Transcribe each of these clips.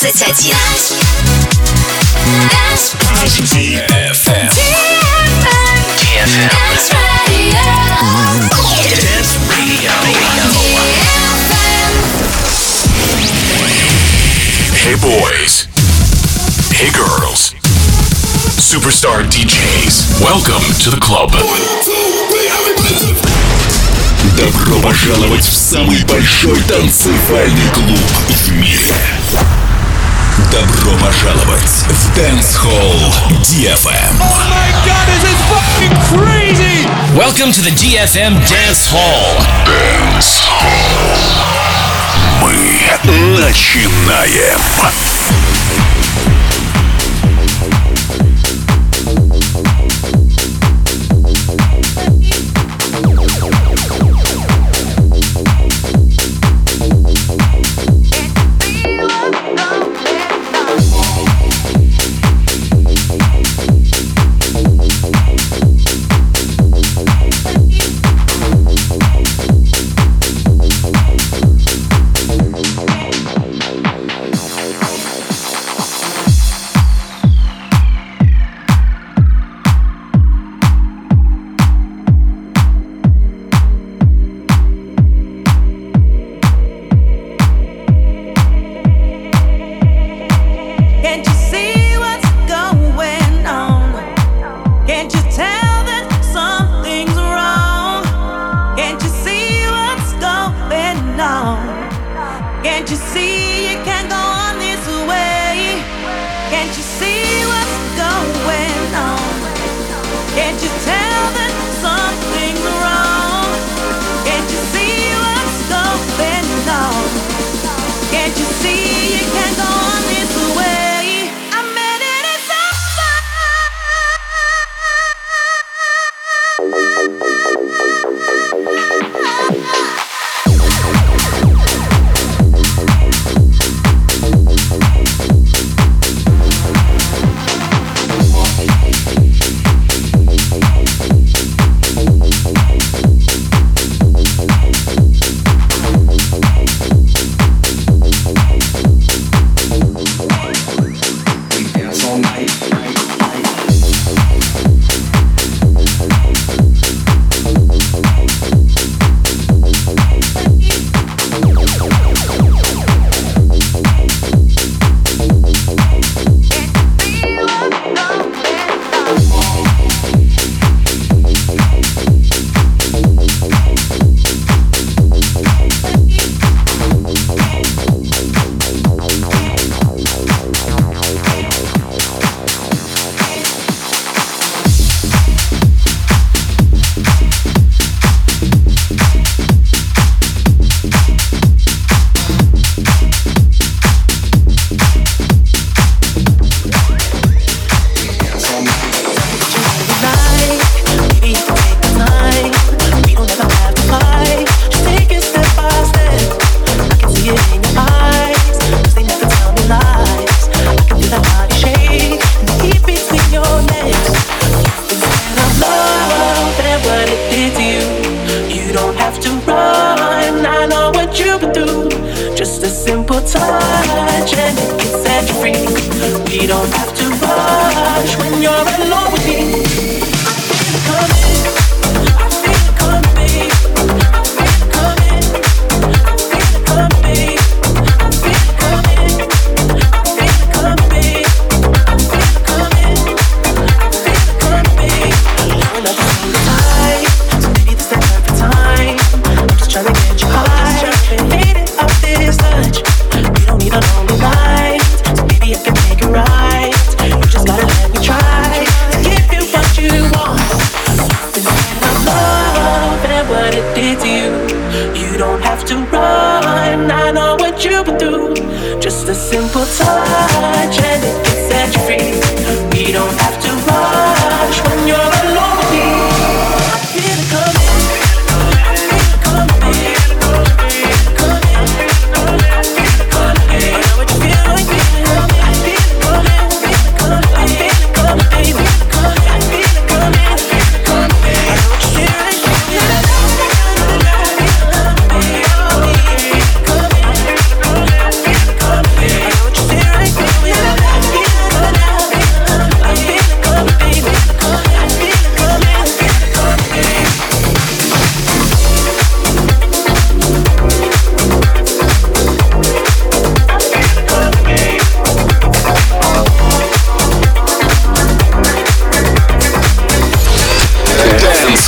21. Dance Radio. Hey boys. Hey girls. Superstar DJs. Welcome to the club. Добро пожаловать в самый большой танцевальный клуб в мире. Добро пожаловать в Dance Hall DFM. Oh my god, this is fucking crazy! Welcome to the DFM Dance Hall. Dance Hall. Мы начинаем.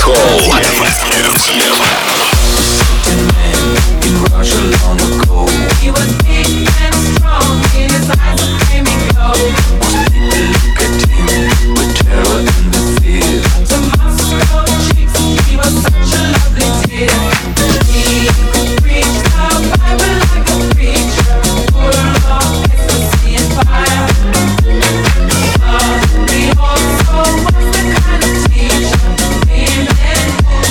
Hall. He was big and strong, in his eyes a flaming glow. Most people look at him with terror and with fear. To Moscow chicks, he was such a lovely dear. He could preach the Bible like a preacher, full of ecstasy and fire. But he also was the kind of teacher, him and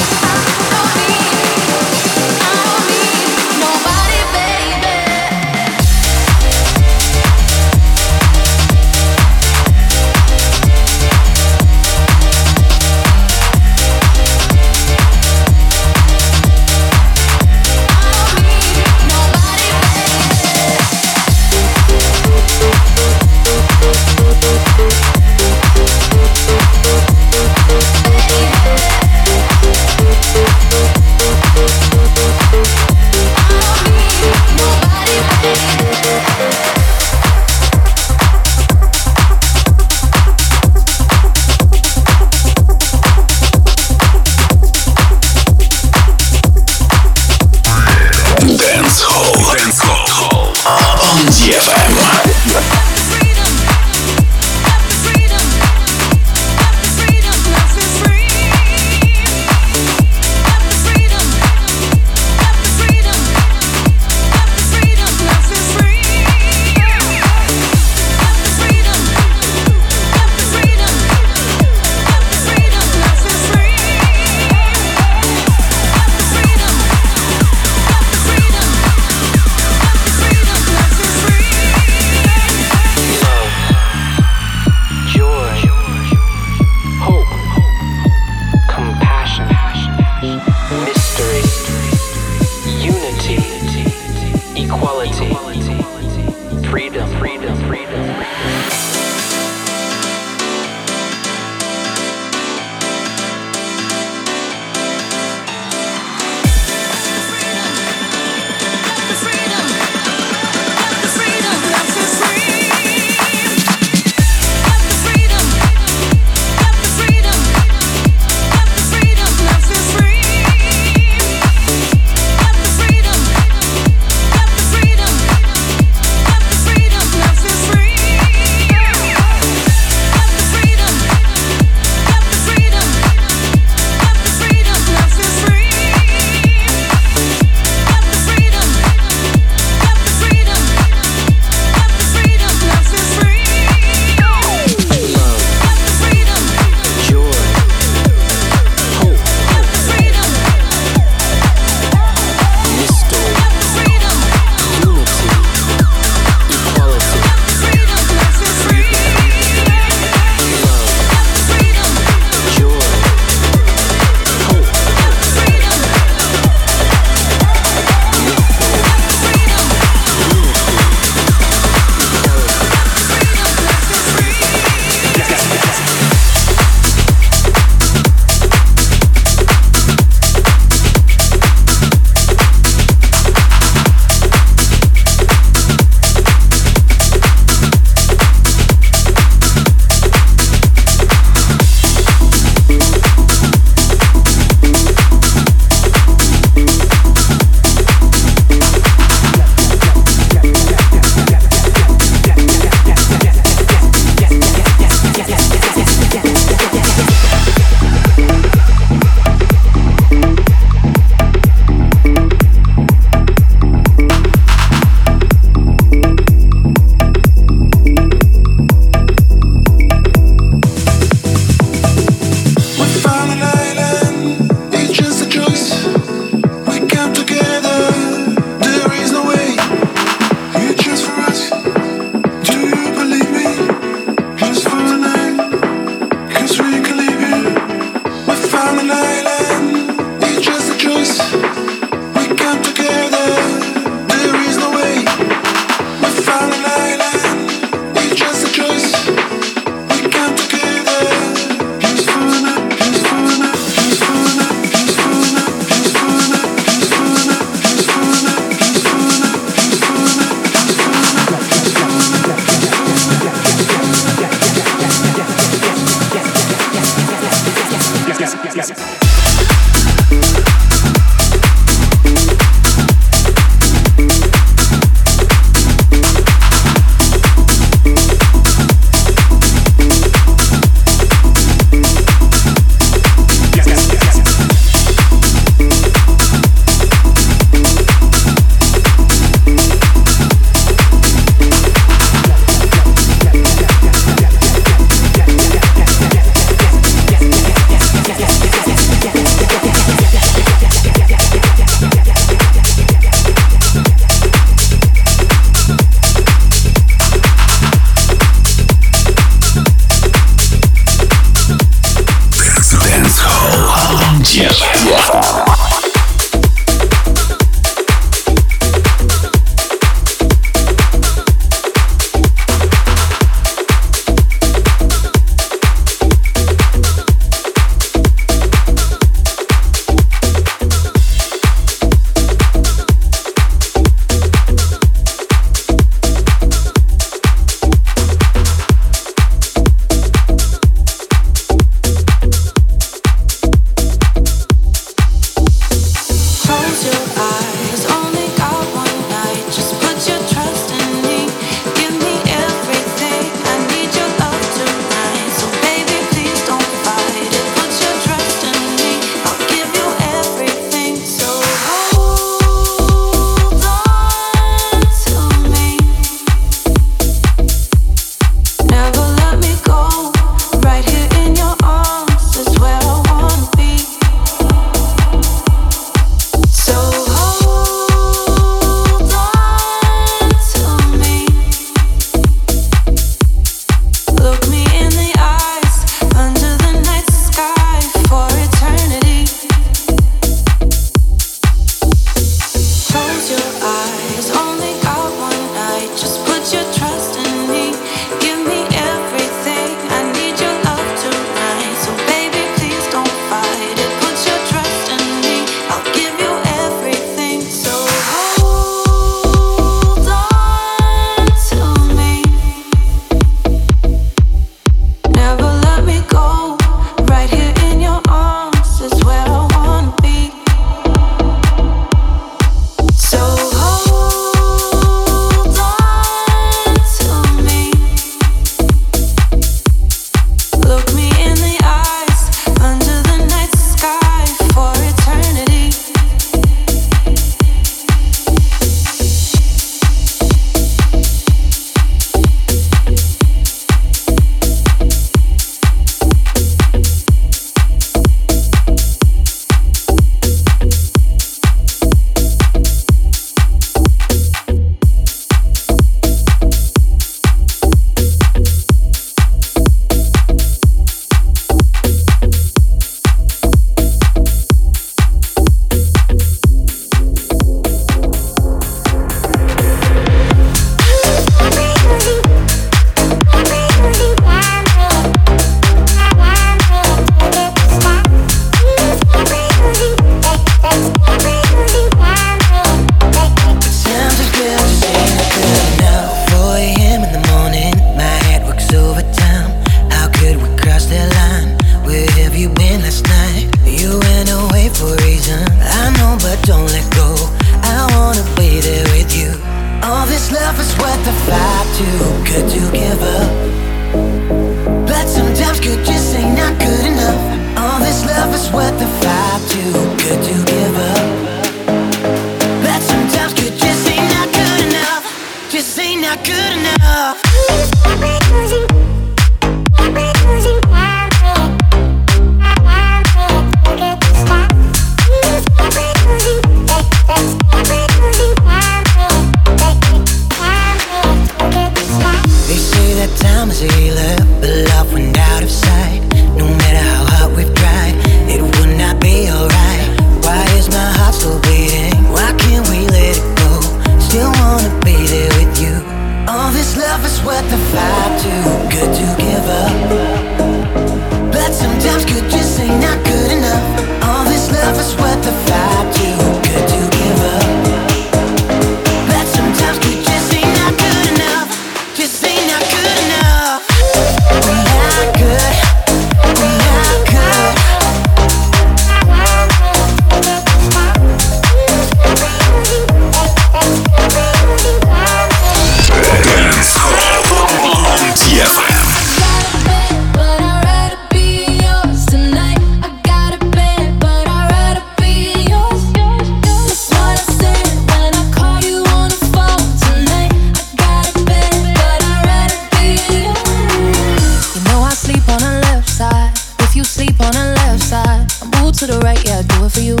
to the right, yeah, I do it for you.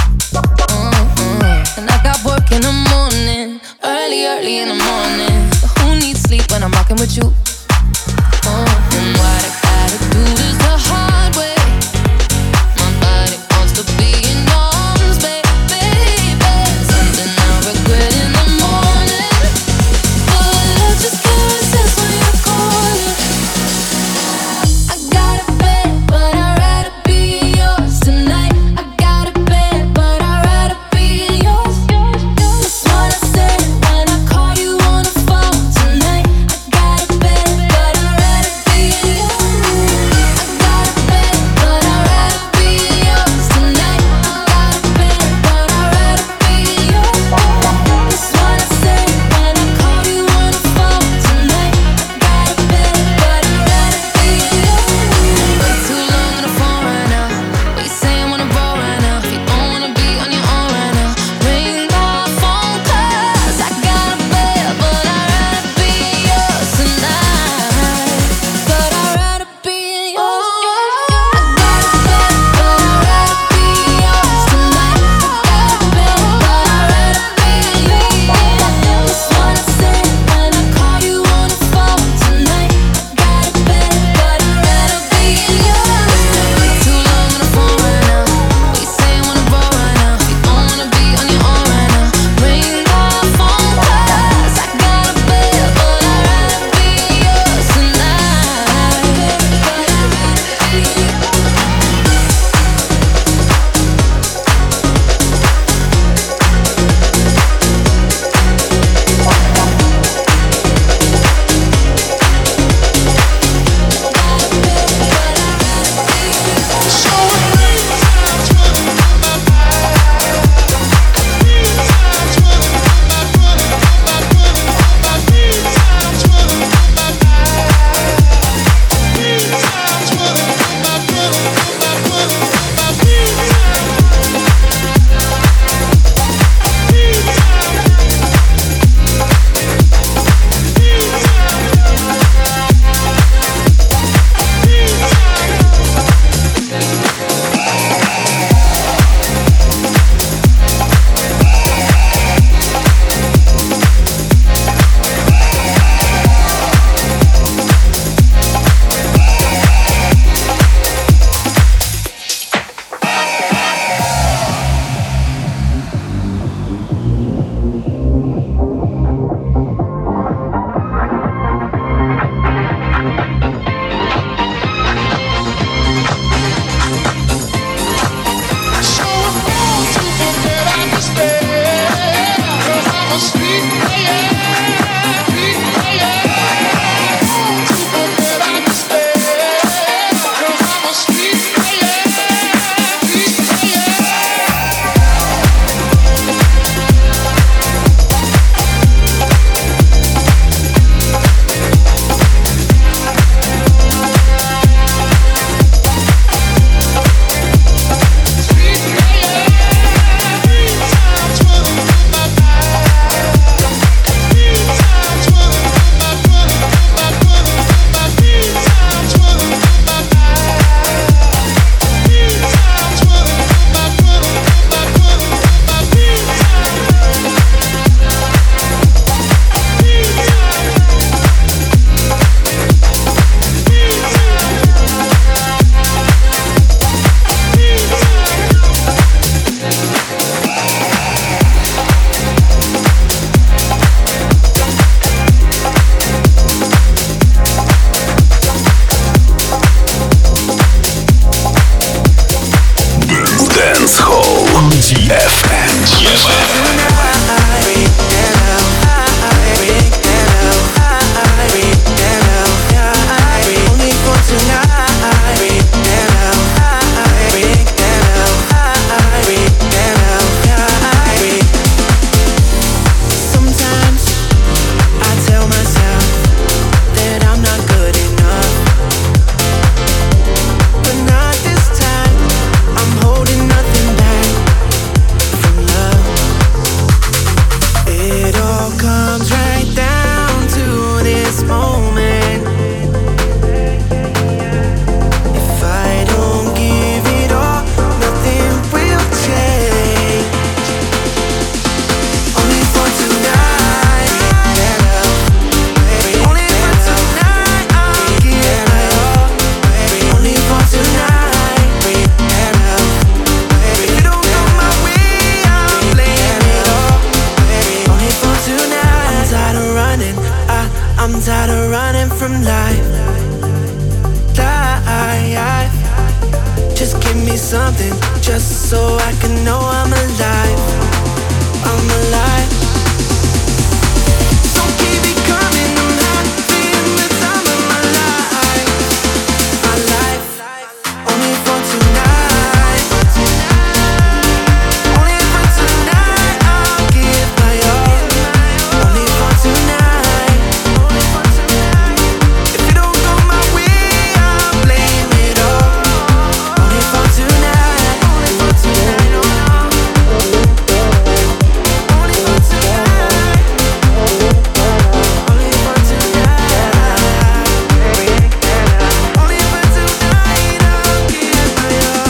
And I got work in the morning, early in the morning. But who needs sleep when I'm rocking with you? And what I gotta do this the hard way. My body wants to be in arms, baby. Something I regret in the morning, but I just can't resist when you're calling. I got a bed, but I'd rather be yours tonight. I got a bed, but I'd rather be yours. That's what I said when I call you on the phone tonight. I got a bed, just so I can know I'm alive. I'm alive. So keep it coming, I'm having the time of my life. My life, only for tonight. Only for tonight, I'll give my all. Only for tonight. If you don't go my way, I'll blame it all. Only for tonight. Only for tonight, oh no. Only for tonight. Only for tonight. Only for tonight, I'll give my all.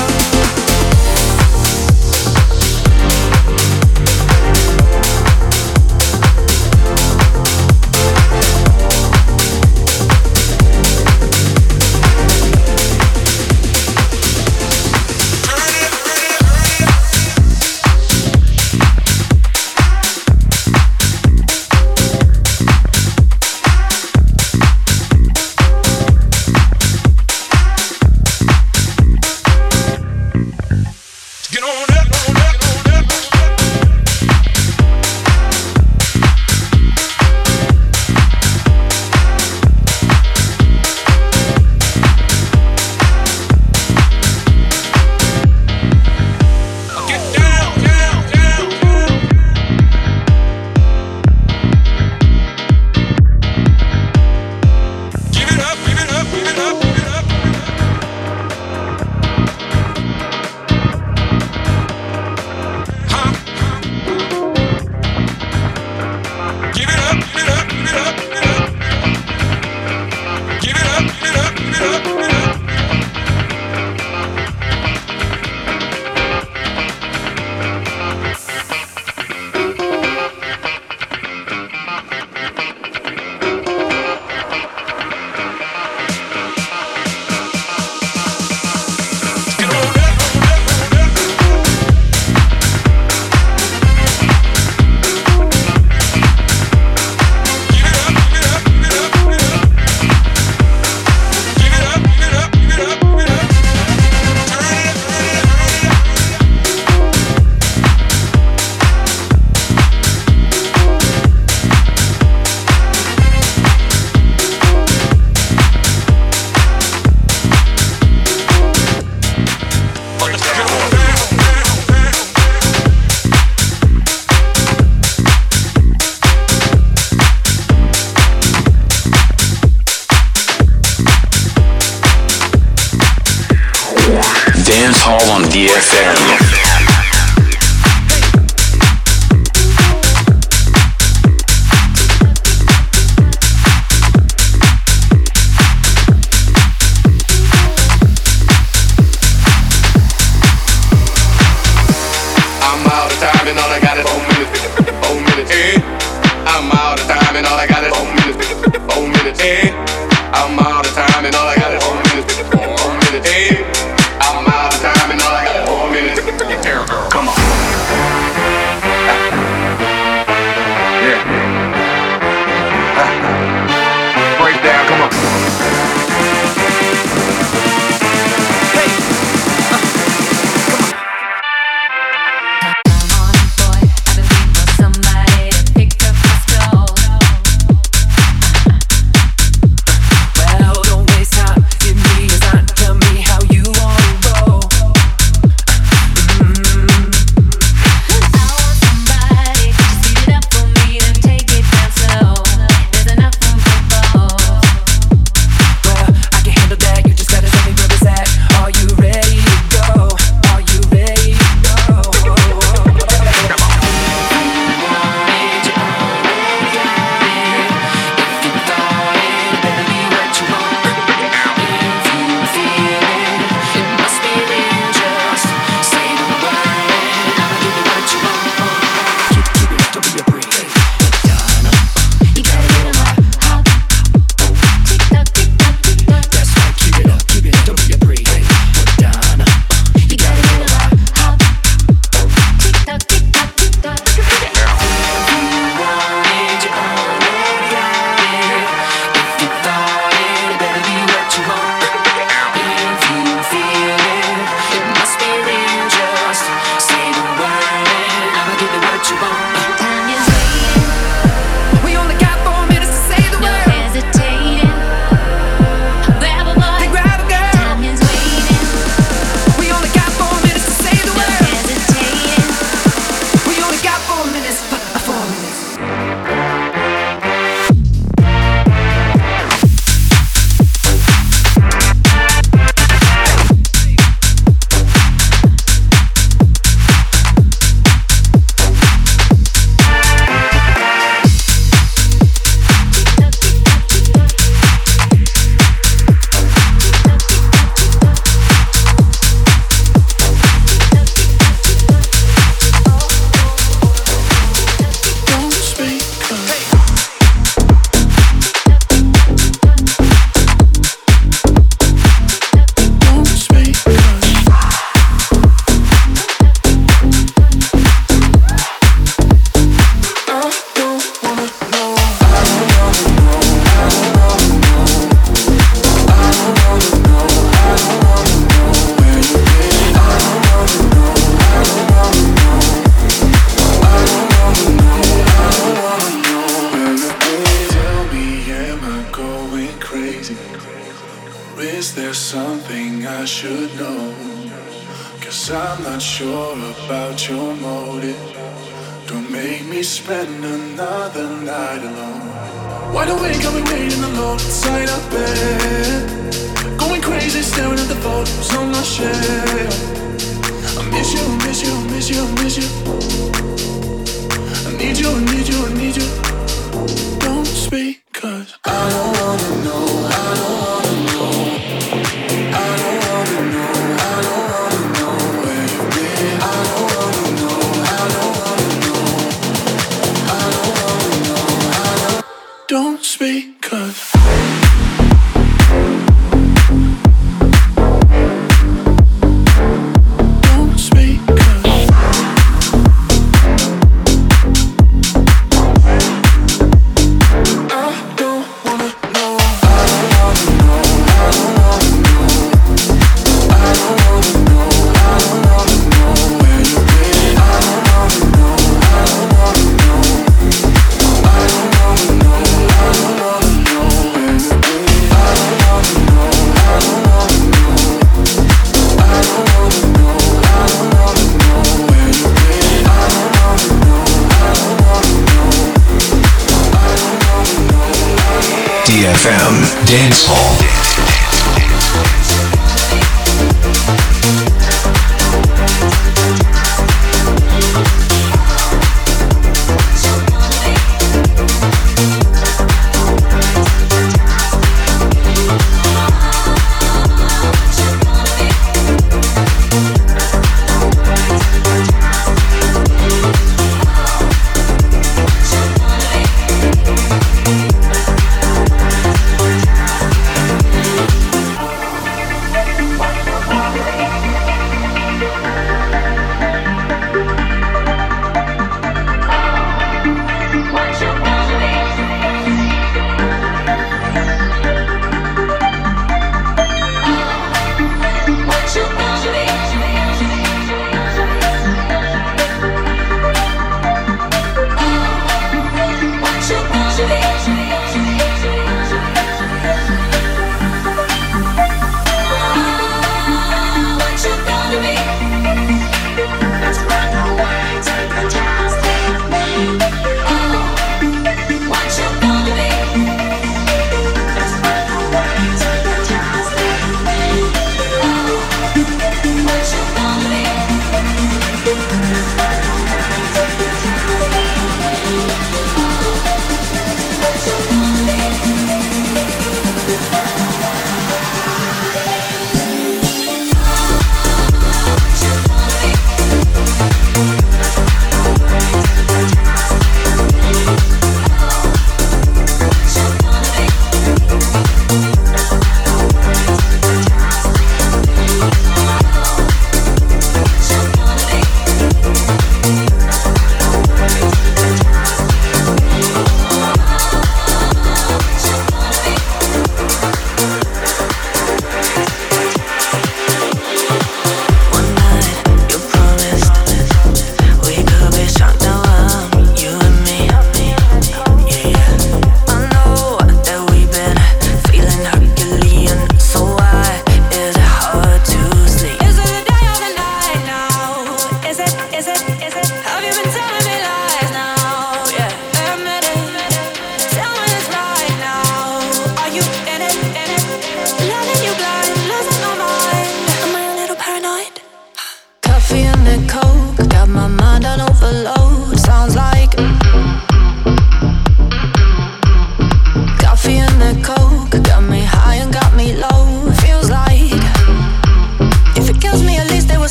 Get on up, get on up, get on up. Get down, down, down, down. Give it up, give it up, give it up, give it up. Huh? Give it up, give it up, give it up, give it up. Give it up, give it up, give it up, give it up. Get on up, get on up, get on up. Give it up, give it up, give it up, give it up. Give it up, give it up, give it up, give it up. Turn it up, turn it up, turn it up. Let's get on down, down, down. Dance Hall on DFM. I'm out of time and all I got is 4 minutes. 4 minutes, eh? I'm out of time and all I got is 4 minutes. 4 minutes, eh? I'm out of time and all I got is 4 minutes. 4 minutes, eh? I'm out of time and all I got is 4 minutes. Come on. Yeah. Break down, come on. Boy, I've been waiting for somebody to pick up my stole. Well, don't waste time. Give me a sign. Tell me how you Is there something I should know? 'Cause I'm not sure about your motive. Don't make me spend another night alone. Wide awake, I've been waiting alone inside a bed, going crazy, staring at the photos on my shelf. I miss you, miss you, miss you, miss you. I need you, I need you, I need you. Don't speak, 'cause I don't wanna know, I don't wanna know. I don't wanna know, I don't wanna know where you've been. I don't wanna know, I don't wanna know. I don't wanna know, I don't. Don't speak, 'cause DFM Dance Hall.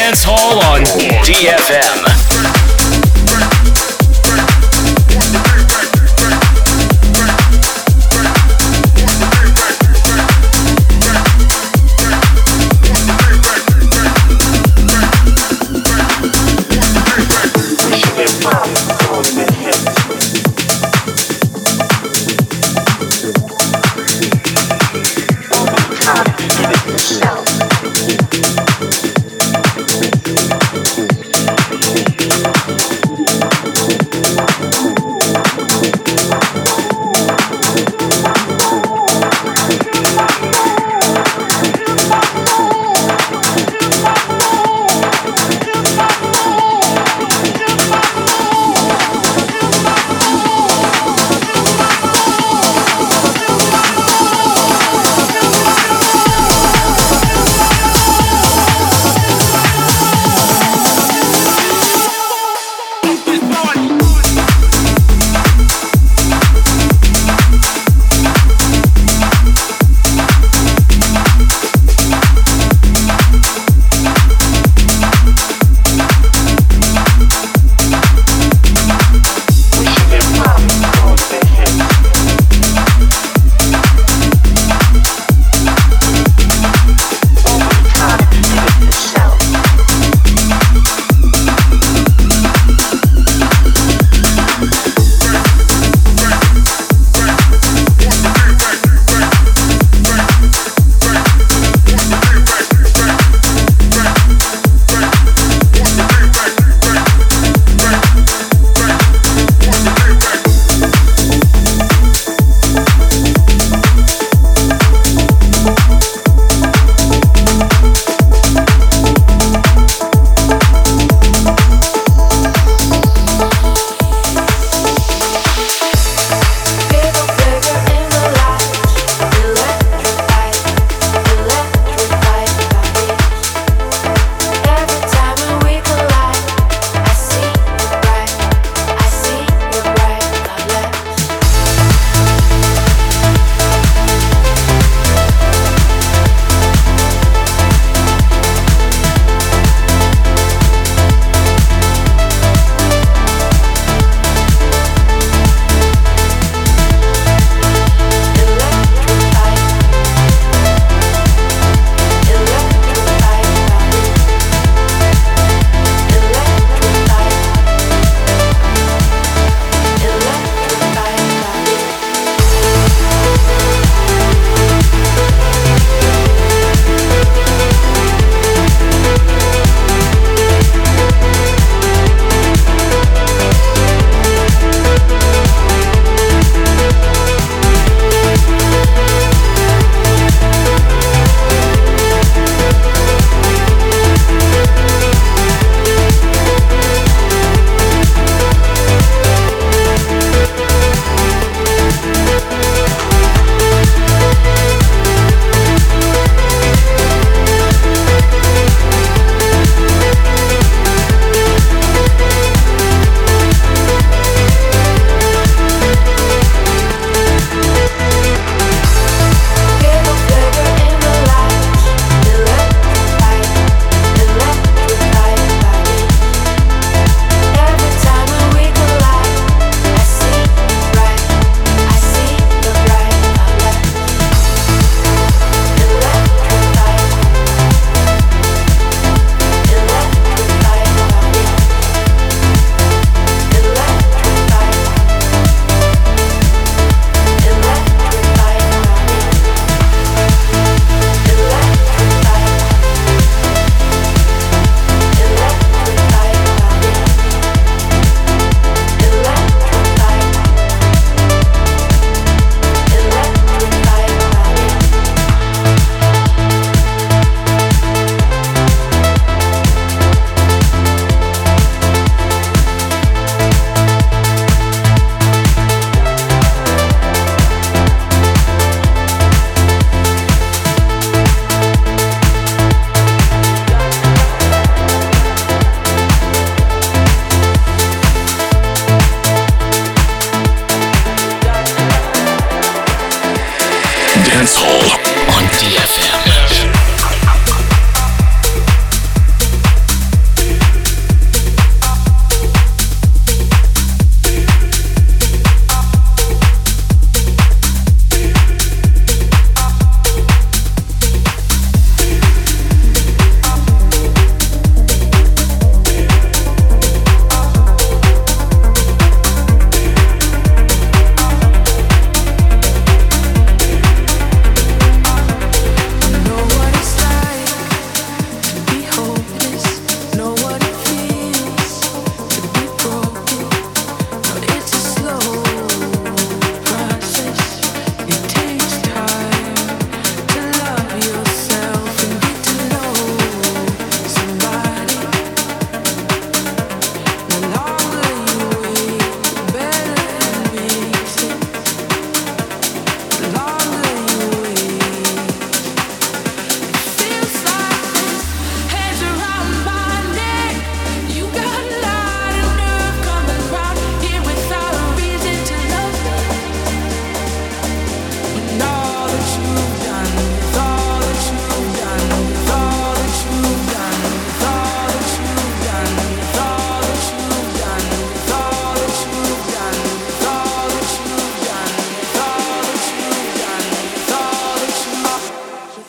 Dance Hall on DFM. Yourself.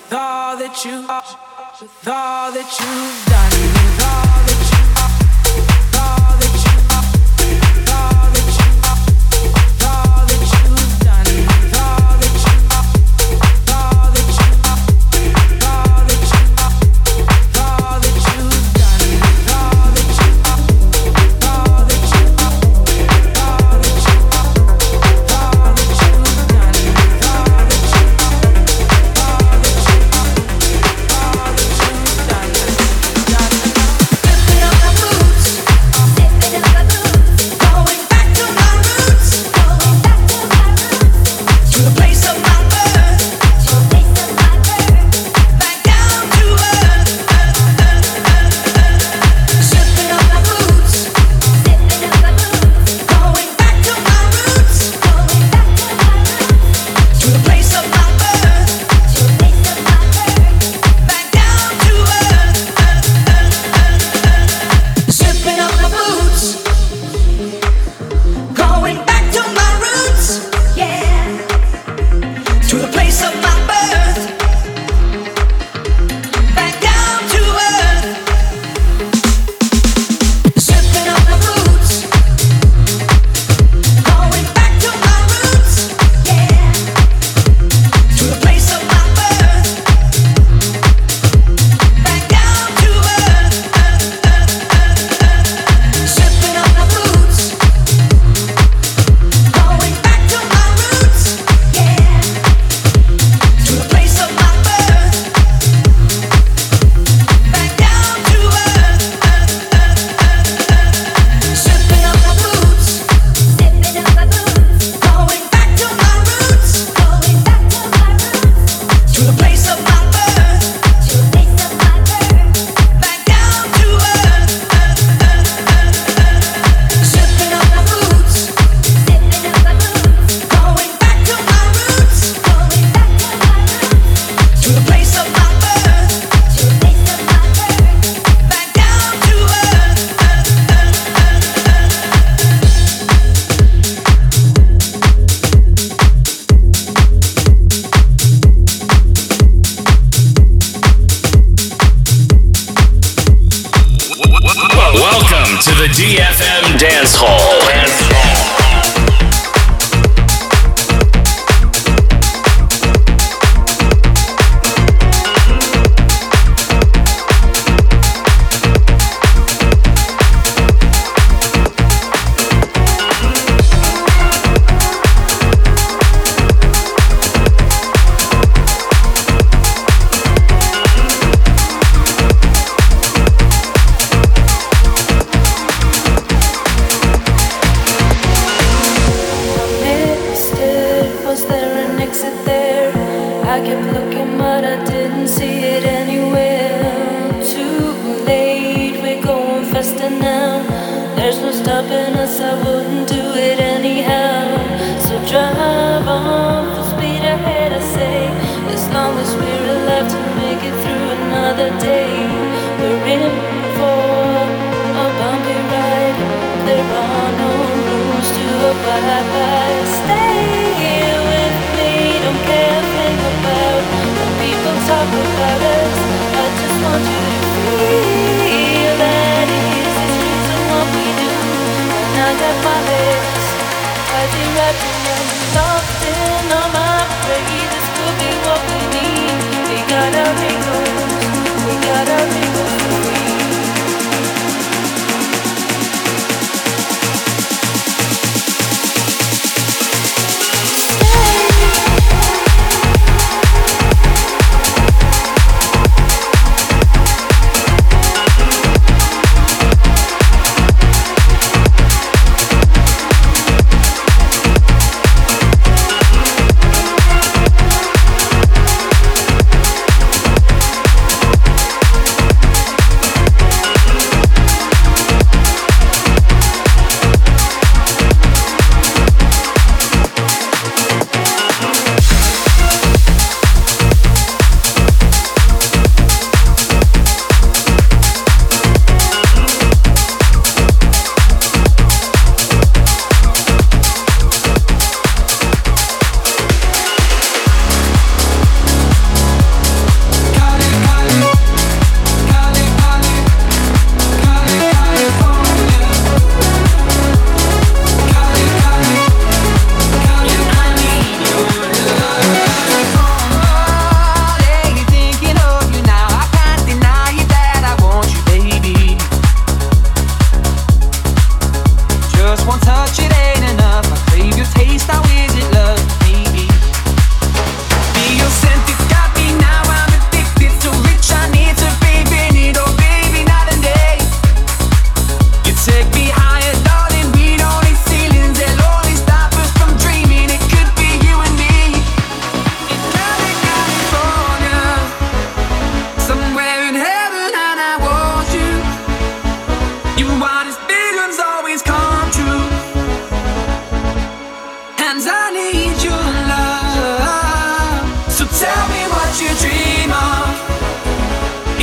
DFM Dance Hall.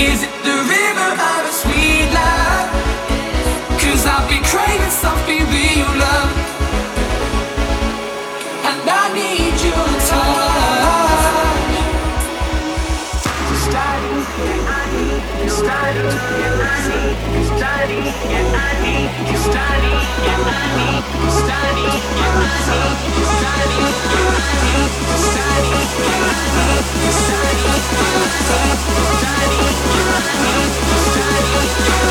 Is it the river of a sweet love? 'Cause I've been craving something real love, and I need your touch. Study, yeah, I need you. Study, yeah, I need you. Study, yeah, I need you. Study, yeah, I need you. Study, yeah, I need you. Study, yeah, I need you. Study, yeah, I need you. Study, yeah, I need you. Study, yeah, I need you. Study, yeah,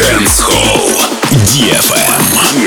Dance Hall. DFM.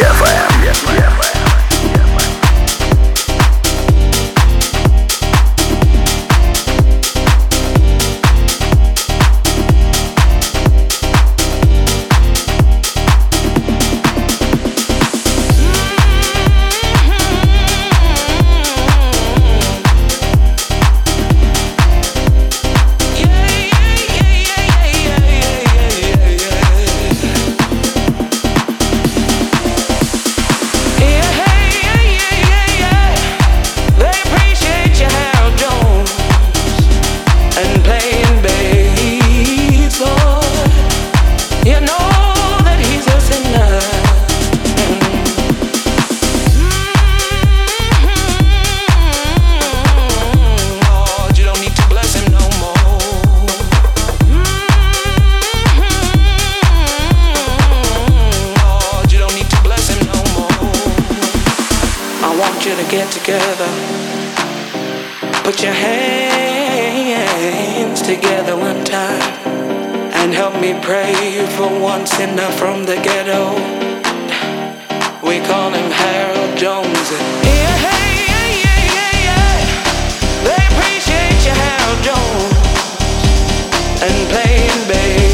Together, put your hands together one time and help me pray for one sinner from the ghetto. We call him Harold Jones. Yeah, hey, yeah, yeah, yeah, yeah. They appreciate you, Harold Jones, and playing bass.